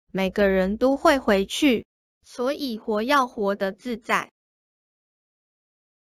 每个人都会回去，所以活要活得自在。